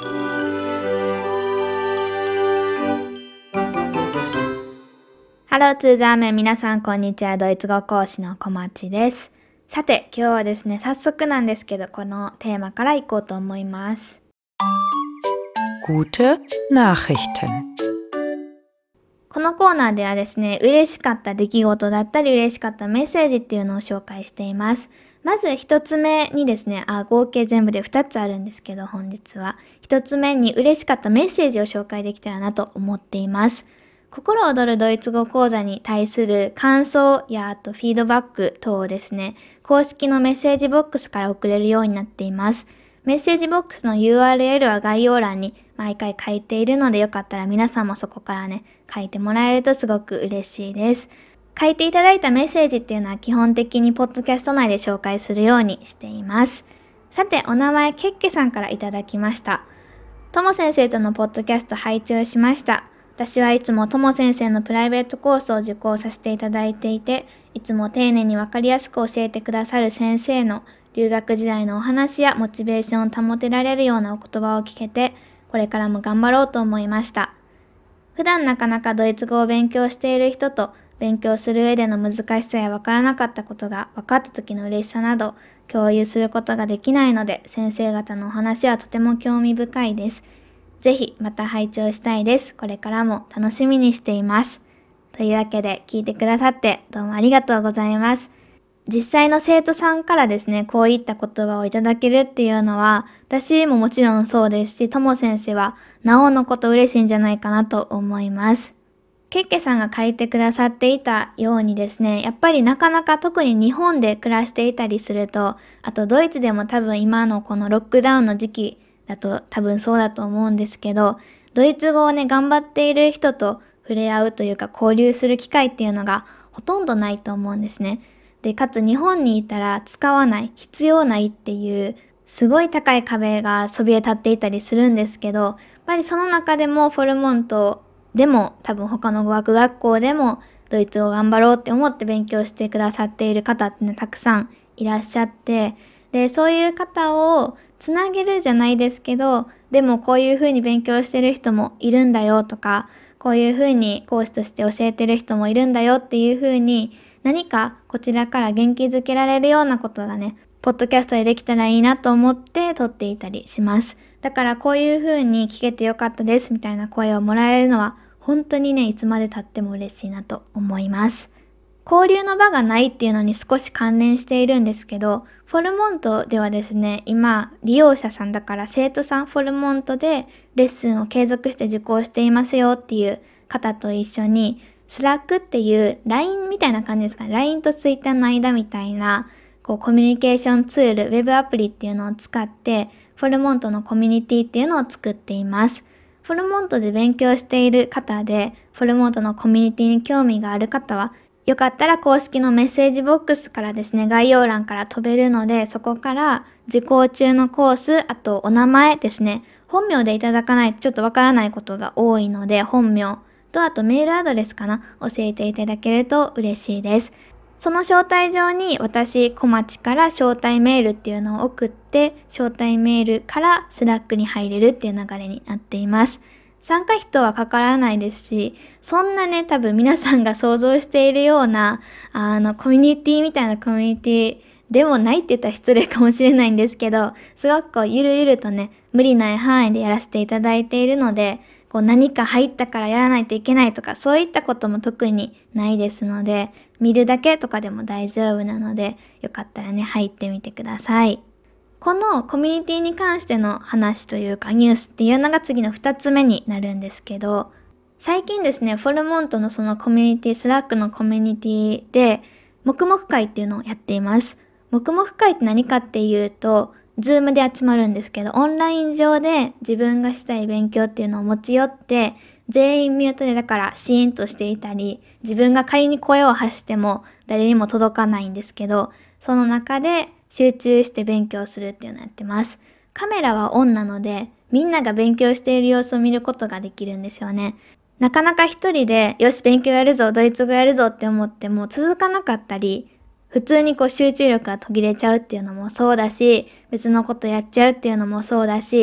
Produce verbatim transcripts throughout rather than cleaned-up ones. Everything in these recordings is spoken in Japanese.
ハローツーザーメン、皆さんこんにちは。ドイツ語講師の小町です。さて、今日はですね、早速なんですけど、このテーマからいこうと思います。 Gute Nachrichten。 このコーナーではですね、嬉しかった出来事だったり嬉しかったメッセージっていうのを紹介しています。まず一つ目にですね、あ、合計全部で二つあるんですけど、本日は一つ目に嬉しかったメッセージを紹介できたらなと思っています。心躍るドイツ語講座に対する感想やあとフィードバック等をですね、公式のメッセージボックスから送れるようになっています。メッセージボックスの ユーアールエル は概要欄に毎回書いているので、よかったら皆さんもそこからね、書いてもらえるとすごく嬉しいです。書いていただいたメッセージっていうのは基本的にポッドキャスト内で紹介するようにしています。さて、お名前ケッケさんからいただきました。とも先生とのポッドキャスト拝聴しました。私はいつもとも先生のプライベートコースを受講させていただいていて、いつも丁寧にわかりやすく教えてくださる先生の留学時代のお話やモチベーションを保てられるようなお言葉を聞けて、これからも頑張ろうと思いました。普段なかなかドイツ語を勉強している人と勉強する上での難しさやわからなかったことが分かった時の嬉しさなど共有することができないので、先生方のお話はとても興味深いです。ぜひまた拝聴したいです。これからも楽しみにしています。というわけで聞いてくださってどうもありがとうございます。実際の生徒さんからですね、こういった言葉をいただけるっていうのは、私ももちろんそうですし、とも先生はなおのこと嬉しいんじゃないかなと思います。ケッケさんが書いてくださっていたようにですね、やっぱりなかなか特に日本で暮らしていたりすると、あとドイツでも多分今のこのロックダウンの時期だと多分そうだと思うんですけど、ドイツ語をね、頑張っている人と触れ合うというか交流する機会っていうのがほとんどないと思うんですね。で、かつ日本にいたら使わない、必要ないっていうすごい高い壁がそびえ立っていたりするんですけど、やっぱりその中でもフォルモントでも多分他の語学学校でもドイツ語を頑張ろうって思って勉強してくださっている方ってね、たくさんいらっしゃって、で、そういう方をつなげるじゃないですけど、でもこういう風に勉強してる人もいるんだよとか、こういう風に講師として教えてる人もいるんだよっていう風に、何かこちらから元気づけられるようなことがね、ポッドキャストでできたらいいなと思って撮っていたりします。だからこういう風に聞けてよかったですみたいな声をもらえるのは本当にね、いつまで経っても嬉しいなと思います。交流の場がないっていうのに少し関連しているんですけど、フォルモントではですね、今利用者さんだから生徒さんフォルモントでレッスンを継続して受講していますよっていう方と一緒にスラックっていう ライン みたいな感じですかね。ライン と Twitter の間みたいなこうコミュニケーションツール、ウェブアプリっていうのを使ってフォルモントのコミュニティっていうのを作っています。フォルモントで勉強している方で、フォルモントのコミュニティに興味がある方は、よかったら公式のメッセージボックスからですね、概要欄から飛べるので、そこから受講中のコース、あとお名前ですね、本名でいただかないとちょっとわからないことが多いので、本名とあとメールアドレスかな、教えていただけると嬉しいです。その招待状に私、小町から招待メールっていうのを送って、招待メールからスラックに入れるっていう流れになっています。参加費とはかからないですし、そんなね、多分皆さんが想像しているような、あの、コミュニティみたいなコミュニティでもないって言ったら失礼かもしれないんですけど、すごくこう、ゆるゆるとね、無理ない範囲でやらせていただいているので、こう何か入ったからやらないといけないとか、そういったことも特にないですので、見るだけとかでも大丈夫なので、よかったらね、入ってみてください。このコミュニティに関しての話というかニュースっていうのが次のふたつめになるんですけど、最近ですね、フォルモントのそのコミュニティ、スラックのコミュニティで、黙々会っていうのをやっています。黙々会って何かっていうと、ズームで集まるんですけど、オンライン上で自分がしたい勉強っていうのを持ち寄って、全員ミュートでだからシーンとしていたり、自分が仮に声を発しても誰にも届かないんですけど、その中で集中して勉強するっていうのをやってます。カメラはオンなので、みんなが勉強している様子を見ることができるんですよね。なかなか一人で、よし勉強やるぞ、ドイツ語やるぞって思っても続かなかったり、普通にこう集中力が途切れちゃうっていうのもそうだし、別のことやっちゃうっていうのもそうだし、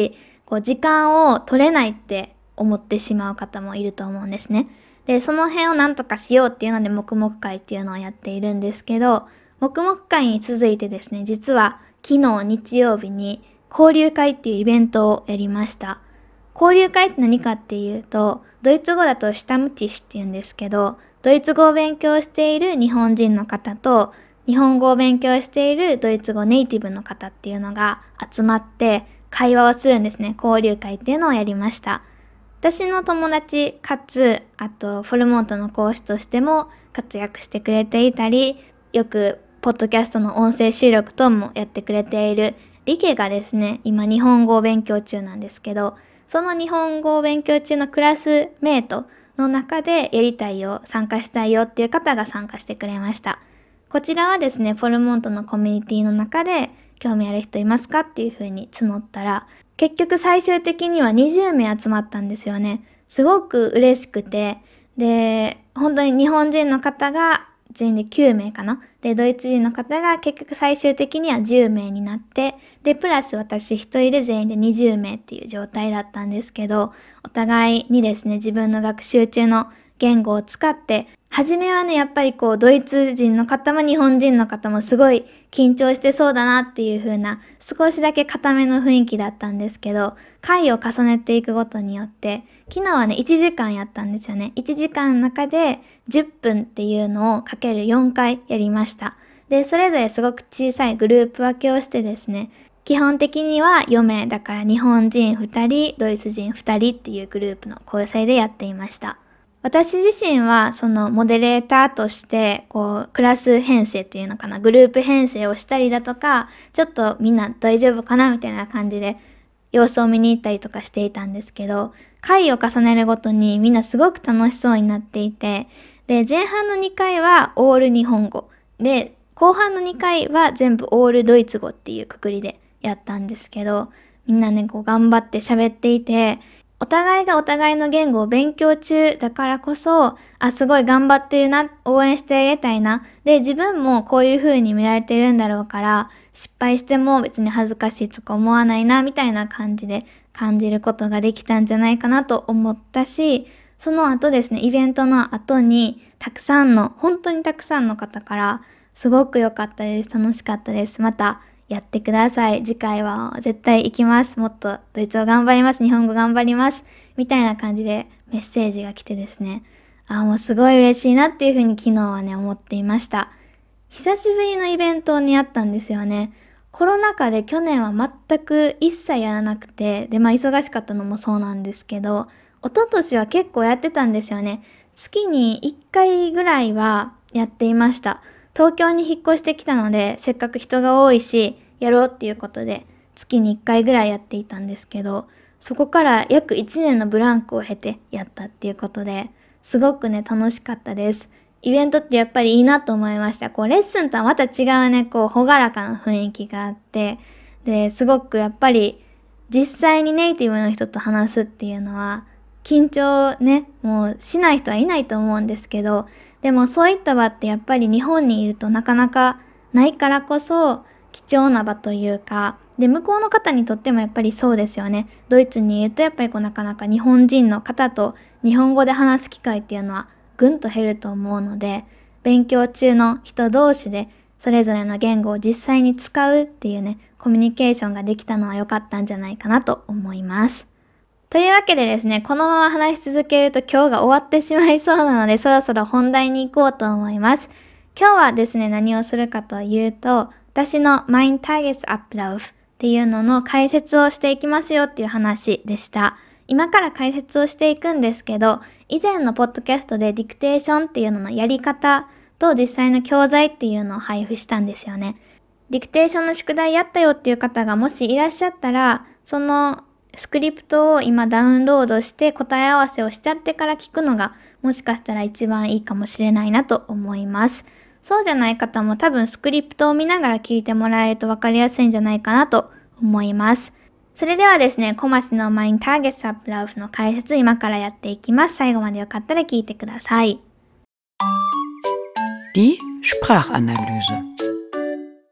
こう時間を取れないって思ってしまう方もいると思うんですね。で、その辺をなんとかしようっていうので黙々会っていうのをやっているんですけど、黙々会に続いてですね、実は昨日日曜日に交流会っていうイベントをやりました。交流会って何かっていうと、ドイツ語だとシュタムティッシュって言うんですけど、ドイツ語を勉強している日本人の方と、日本語を勉強しているドイツ語ネイティブの方っていうのが集まって会話をするんですね。交流会っていうのをやりました。私の友達かつ、あとフォルモントの講師としても活躍してくれていたり、よくポッドキャストの音声収録等もやってくれているリケがですね、今日本語を勉強中なんですけど、その日本語を勉強中のクラスメイトの中でやりたいよ、参加したいよっていう方が参加してくれました。こちらはですね、フォルモントのコミュニティの中で興味ある人いますかっていう風に募ったら、結局最終的にはにじゅうめい集まったんですよね。すごく嬉しくて、で、本当に日本人の方が全員できゅうめいかな。で、ドイツ人の方が結局最終的にはじゅうめいになって、で、プラス私一人で全員でにじゅうめいっていう状態だったんですけど、お互いにですね、自分の学習中の言語を使って、初めはね、やっぱりこう、ドイツ人の方も日本人の方もすごい緊張してそうだなっていう風な、少しだけ固めの雰囲気だったんですけど、回を重ねていくごとによって、昨日はね、いちじかんやったんですよね。いちじかんの中でじゅっぷんっていうのをかけるよんかいやりました。で、それぞれすごく小さいグループ分けをしてですね、基本的にはよめいだから日本人ふたり、ドイツ人ふたりっていうグループの構成でやっていました。私自身はそのモデレーターとしてこうクラス編成っていうのかな、グループ編成をしたりだとか、ちょっとみんな大丈夫かなみたいな感じで様子を見に行ったりとかしていたんですけど、回を重ねるごとにみんなすごく楽しそうになっていて、で前半のにかいはオール日本語で、後半のにかいは全部オールドイツ語っていうくくりでやったんですけど、みんなねこう頑張って喋っていて、お互いがお互いの言語を勉強中だからこそ、あ、すごい頑張ってるな、応援してあげたいな。で、自分もこういう風に見られてるんだろうから、失敗しても別に恥ずかしいとか思わないな、みたいな感じで感じることができたんじゃないかなと思ったし、その後ですね、イベントの後に、たくさんの、本当にたくさんの方から、すごく良かったです。楽しかったです。また、やってください。次回は絶対行きます。もっとドイツ語頑張ります。日本語頑張ります。みたいな感じでメッセージが来てですね。あ、もうすごい嬉しいなっていうふうに昨日はね、思っていました。久しぶりのイベントにあったんですよね。コロナ禍で去年は全く一切やらなくて、で、まあ忙しかったのもそうなんですけど、一昨年は結構やってたんですよね。月にいっかいぐらいはやっていました。東京に引っ越してきたので、せっかく人が多いし、やろうっていうことで、月にいっかいぐらいやっていたんですけど、そこから約いちねんのブランクを経てやったっていうことで、すごくね、楽しかったです。イベントってやっぱりいいなと思いました。こう、レッスンとはまた違うね、こう、ほがらかな雰囲気があって、で、すごくやっぱり、実際にネイティブの人と話すっていうのは、緊張ね、もうしない人はいないと思うんですけど、でもそういった場ってやっぱり日本にいるとなかなかないからこそ貴重な場というか、で向こうの方にとってもやっぱりそうですよね。ドイツにいるとやっぱりこうなかなか日本人の方と日本語で話す機会っていうのはぐんと減ると思うので、勉強中の人同士でそれぞれの言語を実際に使うっていうね、コミュニケーションができたのは良かったんじゃないかなと思います。というわけでですね、このまま話し続けると今日が終わってしまいそうなので、そろそろ本題に行こうと思います。今日はですね、何をするかというと、私の Mein Tagesablauf っていうのの解説をしていきますよっていう話でした。今から解説をしていくんですけど、以前のポッドキャストでディクテーションっていうののやり方と実際の教材っていうのを配布したんですよね。ディクテーションの宿題やったよっていう方がもしいらっしゃったら、そのスクリプトを今ダウンロードして答え合わせをしちゃってから聞くのがもしかしたら一番いいかもしれないなと思います。そうじゃない方も多分スクリプトを見ながら聞いてもらえると分かりやすいんじゃないかなと思います。それではですね、コマシの Mein Tagesablauf の解説今からやっていきます。最後までよかったら聞いてください。 Die Sprachanalyse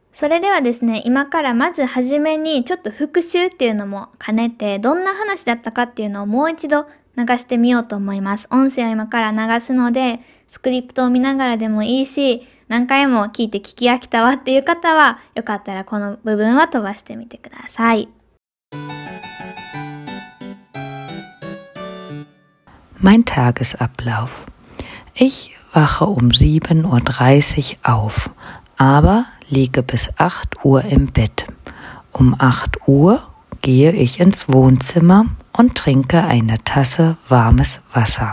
それではですね、今からまずはじめにちょっと復習っていうのも兼ねて、どんな話だったかっていうのをもう一度流してみようと思います。音声を今から流すので、スクリプトを見ながらでもいいし、何回も聞いて聞き飽きたわっていう方は、よかったらこの部分は飛ばしてみてください。 Mein Tagesablauf. Ich wache um sieben Uhr dreißig auf, aber liege bis acht Uhr im Bett. Um acht Uhr gehe ich ins Wohnzimmer und trinke eine Tasse warmes Wasser.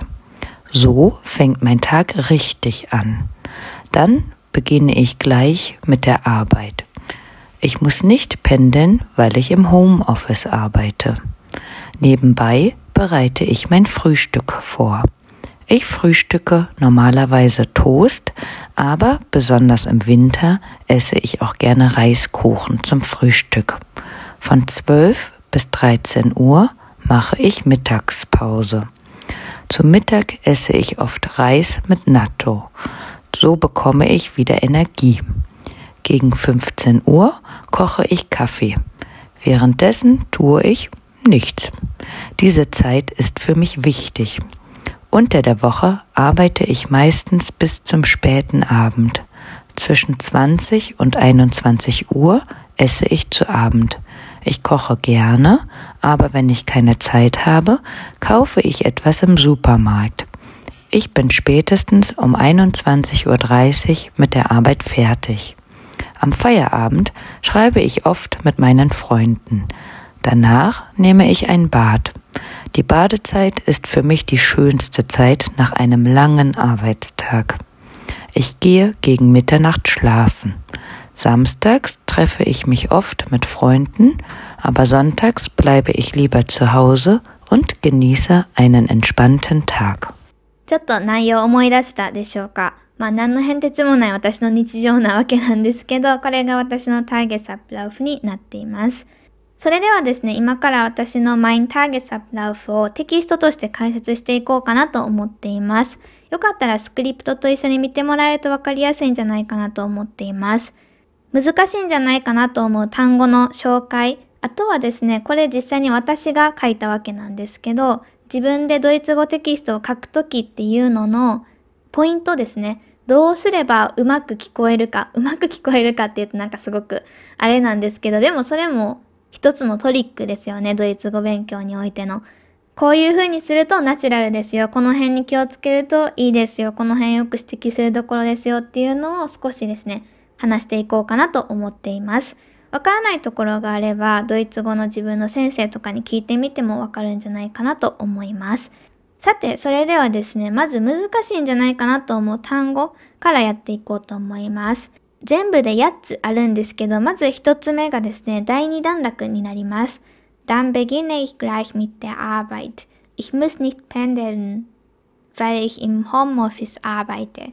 So fängt mein Tag richtig an. Dann beginne ich gleich mit der Arbeit. Ich muss nicht pendeln, weil ich im Homeoffice arbeite. Nebenbei bereite ich mein Frühstück vor. Ich frühstücke normalerweise Toast, aber besonders im Winter esse ich auch gerne Reiskuchen zum Frühstück. Von zwölf bis dreizehn Uhr mache ich Mittagspause. Zum Mittag esse ich oft Reis mit Natto. So bekomme ich wieder Energie. Gegen fünfzehn Uhr koche ich Kaffee. Währenddessen tue ich nichts. Diese Zeit ist für mich wichtig. Unter der Woche arbeite ich meistens bis zum späten Abend. Zwischen zwanzig und einundzwanzig Uhr esse ich zu Abend. Ich koche gerne, aber wenn ich keine Zeit habe, kaufe ich etwas im Supermarkt. Ich bin spätestens um einundzwanzig Uhr dreißig mit der Arbeit fertig. Am Feierabend schreibe ich oft mit meinen Freunden. Danach nehme ich ein Bad. Die Badezeit ist für mich die schönste Zeit nach einem langen Arbeitstag. Ich gehe gegen Mitternacht schlafen. Samstags treffe ich mich oft mit Freunden, aber sonntags bleibe ich lieber zu Hause und genieße einen entspannten Tag. ちょっと内容を思い出せたでしょうか。まあ何の変哲もない私の日常なわけなんですけど、これが私のターゲスアップラウフになっています。それではですね、今から私のマインターゲスアップラウフをテキストとして解説していこうかなと思っています。よかったらスクリプトと一緒に見てもらえると分かりやすいんじゃないかなと思っています。難しいんじゃないかなと思う単語の紹介、あとはですね、これ実際に私が書いたわけなんですけど、自分でドイツ語テキストを書くときっていうののポイントですね。どうすればうまく聞こえるか、うまく聞こえるかって言うとなんかすごくあれなんですけど、でもそれも一つのトリックですよね、ドイツ語勉強においての。こういう風にするとナチュラルですよ。この辺に気をつけるといいですよ。この辺よく指摘するところですよっていうのを少しですね、話していこうかなと思っています。わからないところがあれば、ドイツ語の自分の先生とかに聞いてみてもわかるんじゃないかなと思います。さて、それではですね、まず難しいんじゃないかなと思う単語からやっていこうと思います。全部でやっつあるんですけど、まず一つ目がですね、第二段落になります。Dann beginne ich gleich mit der Arbeit. Ich muss nicht pendeln, weil ich im Homeoffice arbeite.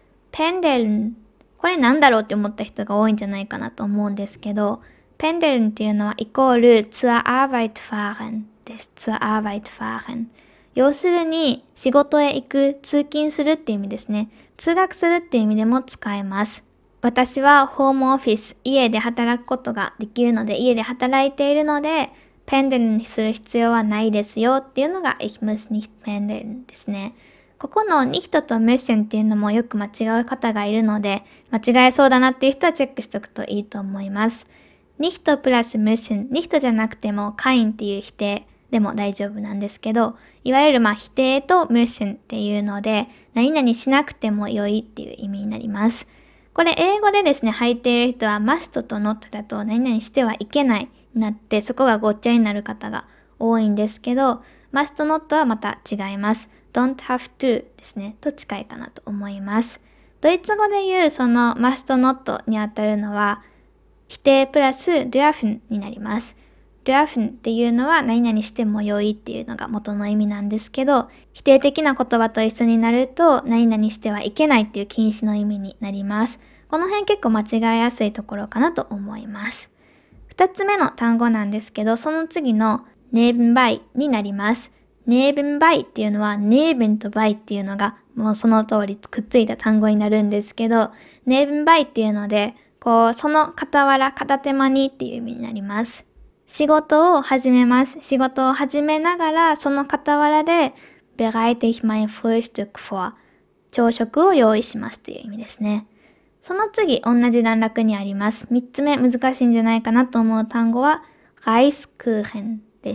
pendeln これなんだろうって思った人が多いんじゃないかなと思うんですけど、pendeln っていうのはイコール zur Arbeit fahren です。zur Arbeit fahren。要するに仕事へ行く、通勤するっていう意味ですね。通学するっていう意味でも使えます。私はホームオフィス、家で働くことができるので、家で働いているので、pendeln にする必要はないですよっていうのが ich muss nicht pendeln ですね。ここのnichtと müssen っていうのもよく間違う方がいるので、間違えそうだなっていう人はチェックしておくといいと思います。nicht プラス müssen、nicht じゃなくても kein っていう否定でも大丈夫なんですけど、いわゆるまあ否定と müssen っていうので、何々しなくても良いっていう意味になります。これ英語でですね、入っている人は must と not だと何々してはいけないになって、そこがごっちゃになる方が多いんですけど、must not はまた違います。don't have to ですね、と近いかなと思います。ドイツ語で言うその must not にあたるのは、否定プラス dürfen になります。dürfen っていうのは何々しても良いっていうのが元の意味なんですけど、否定的な言葉と一緒になると何々してはいけないっていう禁止の意味になります。この辺結構間違えやすいところかなと思います。二つ目の単語なんですけど、その次の nebenbei になります。nebenbei っていうのは neben と bei っていうのがもうその通りくっついた単語になるんですけど、nebenbei っていうのでこう、その傍ら、片手間にっていう意味になります。仕事を始めます。仕事を始めながら、その傍らで、bereite ich mein Frühstück vor。朝食を用意しますっていう意味ですね。その次、同じ段落にあります。三つ目、難しいんじゃないかなと思う単語は、Reiskuchen です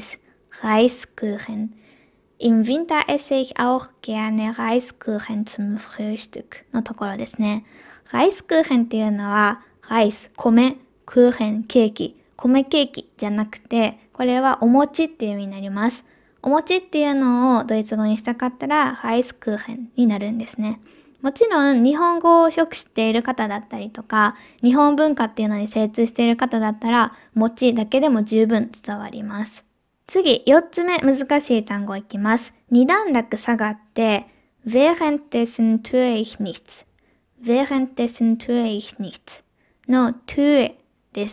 。Reiskuchen。Im Winter esse ich auch gerne Reiskuchen zum Frühstück のところですね。Reiskuchen っていうのは、ライス、米、クーヘン、ケーキ、米ケーキじゃなくて、これはお餅っていう意味になります。お餅っていうのをドイツ語にしたかったら、ライスクーヘンになるんですね。もちろん日本語をよく知っている方だったりとか、日本文化っていうのに精通している方だったら、餅だけでも十分伝わります。次、四つ目難しい単語いきます。二段落下がって、währenddessen tue ich nichts。währenddessen tue ich nichts の tue です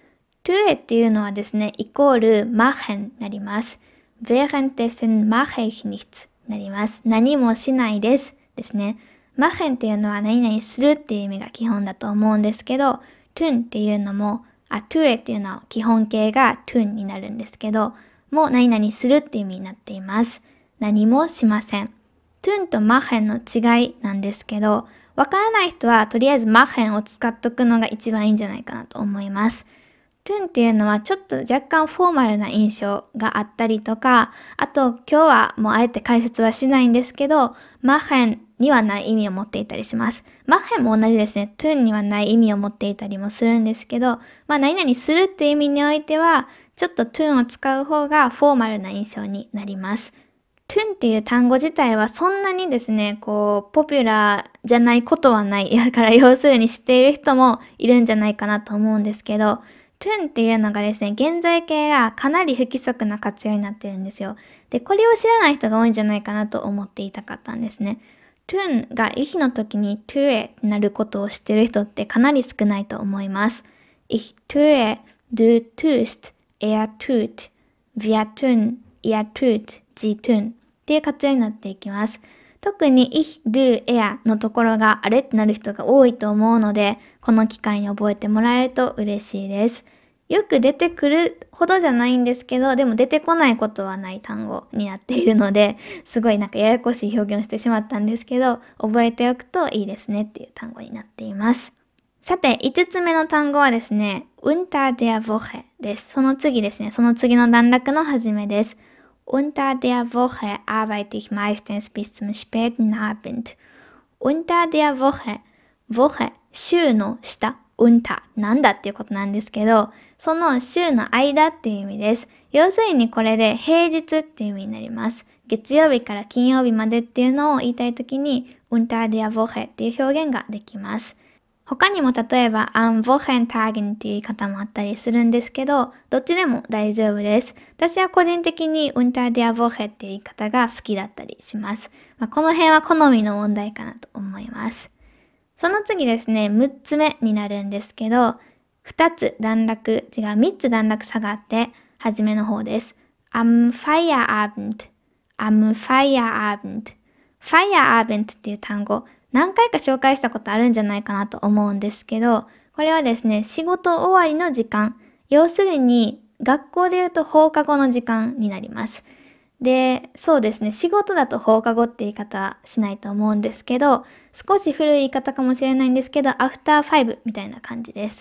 。tue っていうのはですね、イコール machen になります。währenddessen mache ich nichts になります。何もしないですですね。machen っていうのは何々するっていう意味が基本だと思うんですけど、tun っていうのも、あ、tue っていうのは基本形が tun になるんですけど、もう何々するって意味になっています。何もしません。tun と machen の違いなんですけど、わからない人はとりあえず machen を使っとくのが一番いいんじゃないかなと思います。tun っていうのはちょっと若干フォーマルな印象があったりとか、あと今日はもうあえて解説はしないんですけど、machen にはない意味を持っていたりします。machen も同じですね。tun にはない意味を持っていたりもするんですけど、まあ何々するっていう意味においては、ちょっと tun を使う方がフォーマルな印象になります。tun っていう単語自体はそんなにですね、こう、ポピュラーじゃないことはない。だから要するに知っている人もいるんじゃないかなと思うんですけど、tun っていうのがですね、現在形がかなり不規則な活用になってるんですよ。で、これを知らない人が多いんじゃないかなと思っていたかったんですね。tun が意思の時に tue になることを知ってる人ってかなり少ないと思います。Ich tue, du tust, er tut, wir tun, ihr tut, sie tun っていう活用になっていきます。特に ich, du, er のところがあれってなる人が多いと思うので、この機会に覚えてもらえると嬉しいです。よく出てくるほどじゃないんですけど、でも出てこないことはない単語になっているので、すごいなんかややこしい表現をしてしまったんですけど、覚えておくといいですねっていう単語になっています。さて、五つ目の単語はですね、unter der Woche です。その次ですね、その次の段落の始めです。Unter der Woche arbeite ich meistens bis zum späten Abend. Unter der Woche, Woche、週の下、unter、なんだっていうことなんですけど、その週の間っていう意味です。要するにこれで平日っていう意味になります。月曜日から金曜日までっていうのを言いたいときに、unter der Woche っていう表現ができます。他にも例えば am Wochentagen っていう言い方もあったりするんですけど、どっちでも大丈夫です。私は個人的に unter der Woche っていう言い方が好きだったりします。まあ、この辺は好みの問題かなと思います。その次ですね、むっつめになるんですけど、ふたつ段落、違うみっつ段落下がって、初めの方です。am Feierabend, am Feierabend, Feierabend っていう単語、何回か紹介したことあるんじゃないかなと思うんですけど、これはですね、仕事終わりの時間。要するに、学校で言うと放課後の時間になります。で、そうですね、仕事だと放課後って言い方はしないと思うんですけど、少し古い言い方かもしれないんですけど、after five みたいな感じです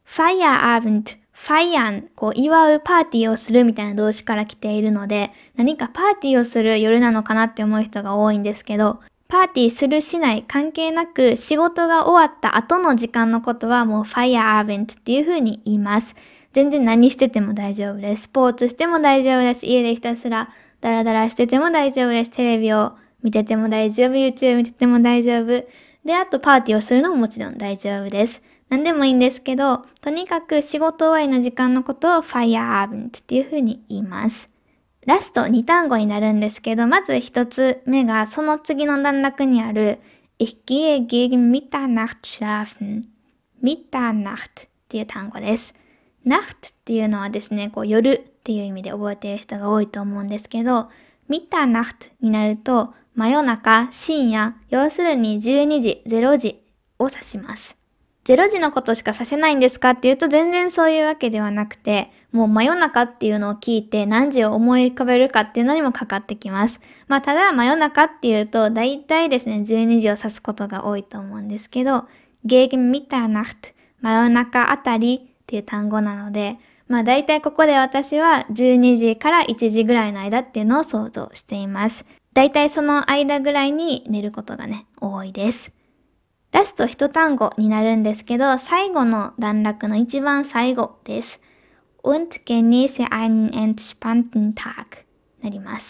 。Feierabend、feiern、こう祝うパーティーをするみたいな動詞から来ているので、何かパーティーをする夜なのかなって思う人が多いんですけど、パーティーするしない関係なく仕事が終わった後の時間のことはもう Feierabend っていう風に言います。全然何してても大丈夫です。スポーツしても大丈夫です。家でひたすらダラダラしてても大丈夫です。テレビを見てても大丈夫。YouTube 見てても大丈夫。で、あとパーティーをするのももちろん大丈夫です。何でもいいんですけど、とにかく仕事終わりの時間のことを Feierabend っていう風に言います。ラストに単語になるんですけど、まず一つ目がその次の段落にある Ich gehe gegen Mitternacht schlafen. Mitternacht っていう単語です。Nacht っていうのはですね、こう夜っていう意味で覚えている人が多いと思うんですけど、Mitternacht になると真夜中、深夜、要するにじゅうにじ、れいじを指します。 ゼロじのことしかさせないんですかっていうと全然そういうわけではなくて、もう真夜中っていうのを聞いて何時を思い浮かべるかっていうのにもかかってきます。まあただ真夜中っていうと大体ですねじゅうにじを指すことが多いと思うんですけど、gegen Mitternacht、真夜中あたりっていう単語なので、まあ大体ここで私はじゅうにじからいちじぐらいの間っていうのを想像しています。大体その間ぐらいに寝ることがね多いです。ラスト一単語になるんですけど、最後の段落の一番最後です。und genieße einen entspannten Tag なります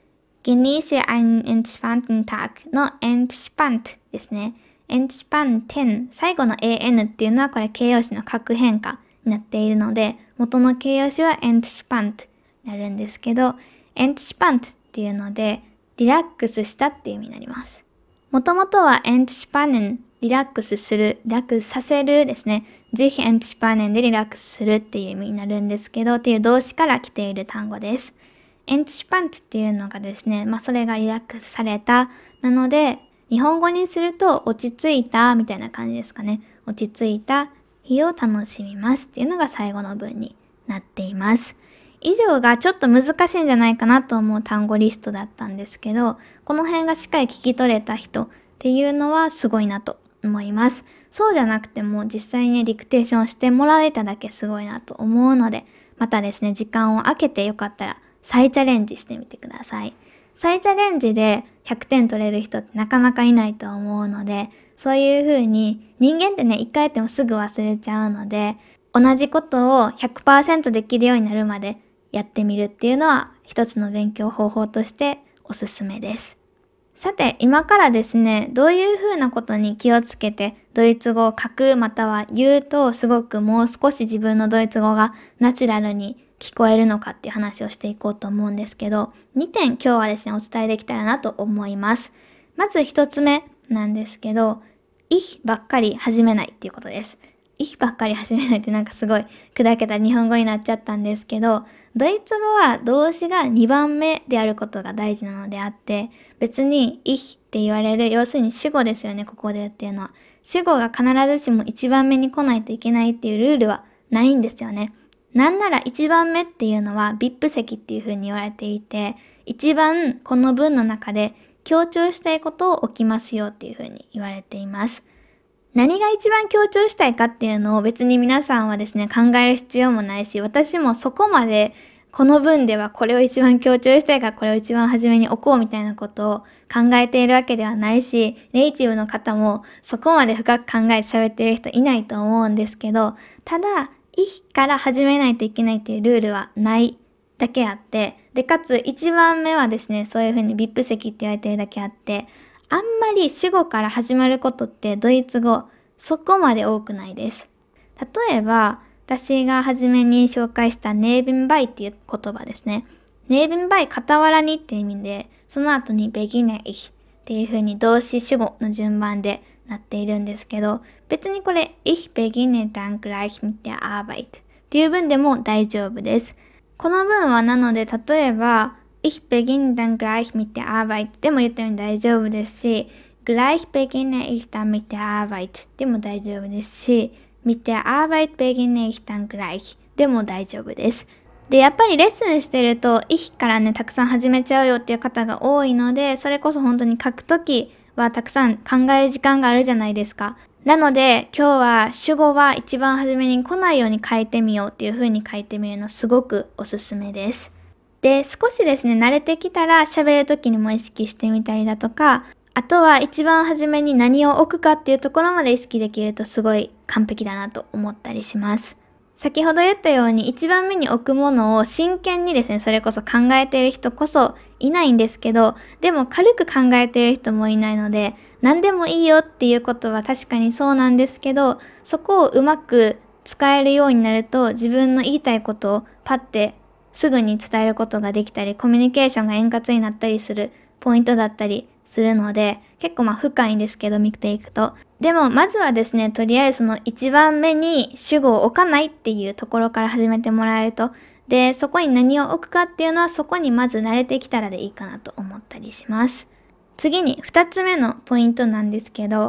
。genieße einen entspannten Tag の entspannt ですね。entspannten 最後の an っていうのはこれ形容詞の格変化になっているので、元の形容詞は entspannt になるんですけど、entspannt っていうのでリラックスしたっていう意味になります。もともとは entspannen リラックスする、リラックスさせるですね。ぜひ entspannen でリラックスするっていう意味になるんですけど、っていう動詞から来ている単語です。entspannt っていうのがですね、まあそれがリラックスされた。なので、日本語にすると落ち着いたみたいな感じですかね。落ち着いた日を楽しみますっていうのが最後の文になっています。以上がちょっと難しいんじゃないかなと思う単語リストだったんですけど、この辺がしっかり聞き取れた人っていうのはすごいなと思います。そうじゃなくても実際にね、ディクテーションしてもらえただけすごいなと思うので、またですね、時間を空けてよかったら再チャレンジしてみてください。再チャレンジでひゃくてん取れる人ってなかなかいないと思うので、そういう風に人間ってね、一回やってもすぐ忘れちゃうので、同じことを ひゃくパーセント できるようになるまでやってみるっていうのは一つの勉強方法としておすすめです。さて、今からですね、どういうふうなことに気をつけてドイツ語を書くまたは言うとすごくもう少し自分のドイツ語がナチュラルに聞こえるのかっていう話をしていこうと思うんですけど、にてん今日はですね、お伝えできたらなと思います。まずひとつめなんですけど、ich ばっかり始めないっていうことです。ich ばっかり始めないってなんかすごい砕けた日本語になっちゃったんですけど、ドイツ語は動詞がにばんめであることが大事なのであって、別に ich って言われる、要するに主語ですよね、ここで言っていうのは。主語が必ずしもいちばんめに来ないといけないっていうルールはないんですよね。なんならいちばんめっていうのは ブイアイピー 席っていう風に言われていて、一番この文の中で強調したいことを置きますよっていう風に言われています。何が一番強調したいかっていうのを別に皆さんはですね、考える必要もないし、私もそこまでこの文ではこれを一番強調したいからこれを一番初めに置こうみたいなことを考えているわけではないし、ネイティブの方もそこまで深く考えて喋っている人いないと思うんですけど、ただ、ich から始めないといけないっていうルールはないだけあって、で、かつ一番目はですね、そういうふうに ブイアイピー 席って言われているだけあって、あんまり主語から始まることってドイツ語そこまで多くないです。例えば、私が初めに紹介したnebenbeiっていう言葉ですね。nebenbei 傍らにっていう意味で、その後に beginne ich っていう風に動詞主語の順番でなっているんですけど、別にこれ ich beginne dann gleich mit der Arbeit っていう文でも大丈夫です。この文はなので、例えばIch beginne dann gleich mit der Arbeit でも言ったように大丈夫ですし、gleich beginne ich dann mit der Arbeit でも大丈夫ですし、mit der Arbeit beginne ich dann gleich でも大丈夫です。で、やっぱりレッスンしてると、ich からね、たくさん始めちゃうよっていう方が多いので、それこそ本当に書くときはたくさん考える時間があるじゃないですか。なので、今日は主語は一番初めに来ないように書いてみようっていう風に書いてみるのすごくおすすめです。で、少しですね、慣れてきたら喋るときにも意識してみたりだとか、あとは一番初めに何を置くかっていうところまで意識できるとすごい完璧だなと思ったりします。先ほど言ったように一番目に置くものを真剣にですね、それこそ考えている人こそいないんですけど、でも軽く考えている人もいないので、何でもいいよっていうことは確かにそうなんですけど、そこをうまく使えるようになると自分の言いたいことをパッてすぐに伝えることができたり、コミュニケーションが円滑になったりするポイントだったりするので、結構まあ深いんですけど見ていくと。でもまずはですね、とりあえずその一番目に主語を置かないっていうところから始めてもらえると、で、そこに何を置くかっていうのはそこにまず慣れてきたらでいいかなと思ったりします。次に二つ目のポイントなんですけど、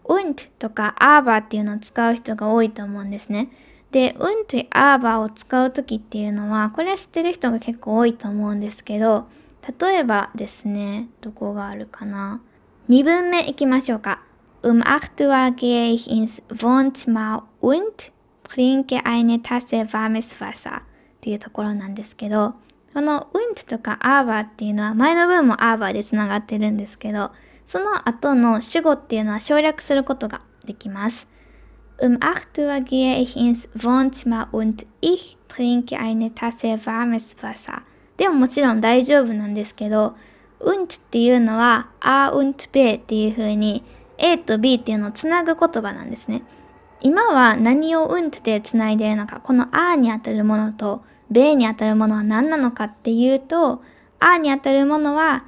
und とか aber っていうのを使う人が多いと思うんですね。で、und と aber を使うときっていうのは、これは知ってる人が結構多いと思うんですけど、例えばですね、どこがあるかな。にぶんめいきましょうか。Um acht Uhr gehe ich ins Wohnzimmer und trinke eine Tasse warmes Wasser っていうところなんですけど、この und とか aber っていうのは前の文も aber でつながってるんですけど、その後の主語っていうのは省略することができます。Um acht Uhr gehe ich ins Wohnzimmer und ich trinke eine Tasse warmes Wasser でももちろん大丈夫なんですけど、und っていうのは a und b っていう風に A と B っていうのをつなぐ言葉なんですね。今は何を und でつないでいるのか、この a にあたるものと b にあたるものは何なのかっていうと、a にあたるものは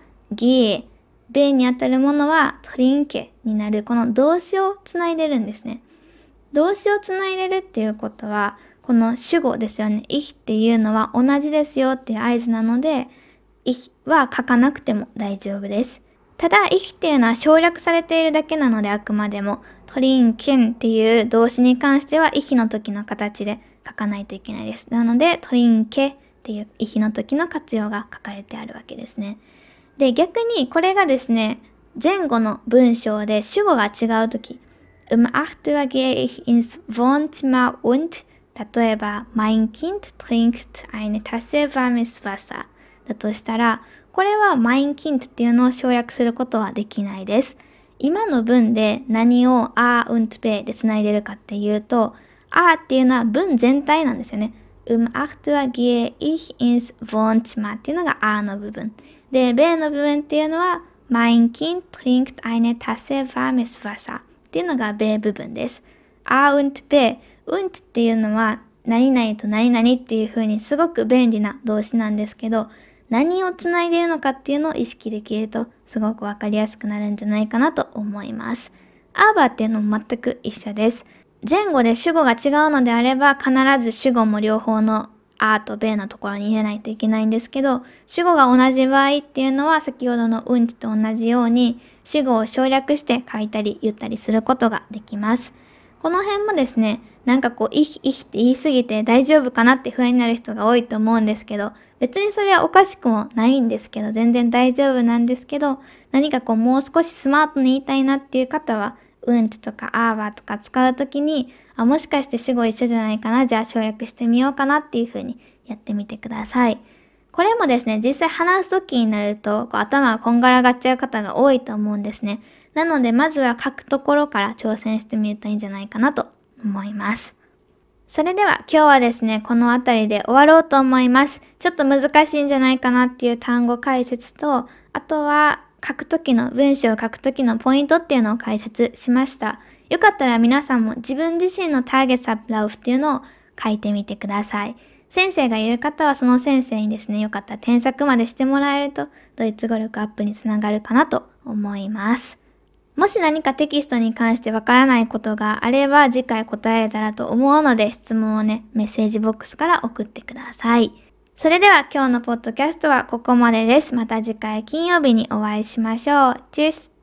gehe、b にあたるものは trinke になるこの動詞をつないでるんですね。動詞をつないでるっていうことは、この主語ですよね。ich っていうのは同じですよっていう合図なので、ich は書かなくても大丈夫です。ただ、ich っていうのは省略されているだけなので、あくまでも、trinken っていう動詞に関しては、ich の時の形で書かないといけないです。なので、trinke っていう ich の時の活用が書かれてあるわけですね。で、逆にこれがですね、前後の文章で主語が違う時、um acht Uhr gehe ich ins Wohnzimmer und 例えば、mein Kind trinkt eine Tasse warmes Wasser だとしたら、これは mein Kind っていうのを省略することはできないです。今の文で何を a und b でつないでるかっていうと、a っていうのは文全体なんですよね。um acht Uhr gehe ich ins Wohnzimmer っていうのが a の部分。で、b の部分っていうのは mein Kind trinkt eine Tasse warmes Wasser っていうのが b 部分です。a und b、und っていうのは何々と何々っていう風にすごく便利な動詞なんですけど、何をつないでいるのかっていうのを意識できるとすごくわかりやすくなるんじゃないかなと思います。aber っていうのも全く一緒です。前後で主語が違うのであれば必ず主語も両方の a と b のところに入れないといけないんですけど、主語が同じ場合っていうのは先ほどの und と同じように主語を省略して書いたり言ったりすることができます。この辺もですね、なんかこう、ich、ich って言いすぎて大丈夫かなって不安になる人が多いと思うんですけど、別にそれはおかしくもないんですけど、全然大丈夫なんですけど、何かこう、もう少しスマートに言いたいなっていう方は、und とか aber とか使うときに、あ、もしかして主語一緒じゃないかな、じゃあ省略してみようかなっていう風にやってみてください。これもですね、実際話すときになると、こう頭がこんがらがっちゃう方が多いと思うんですね。なので、まずは書くところから挑戦してみるといいんじゃないかなと思います。それでは今日はですね、このあたりで終わろうと思います。ちょっと難しいんじゃないかなっていう単語解説と、あとは書くときの文章を書くときのポイントっていうのを解説しました。よかったら皆さんも自分自身のターゲットアップラウフっていうのを書いてみてください。先生がいる方はその先生にですね、よかったら添削までしてもらえるとドイツ語力アップにつながるかなと思います。もし何かテキストに関してわからないことがあれば次回答えれたらと思うので質問をね、メッセージボックスから送ってください。それでは今日のポッドキャストはここまでです。また次回金曜日にお会いしましょう。チュース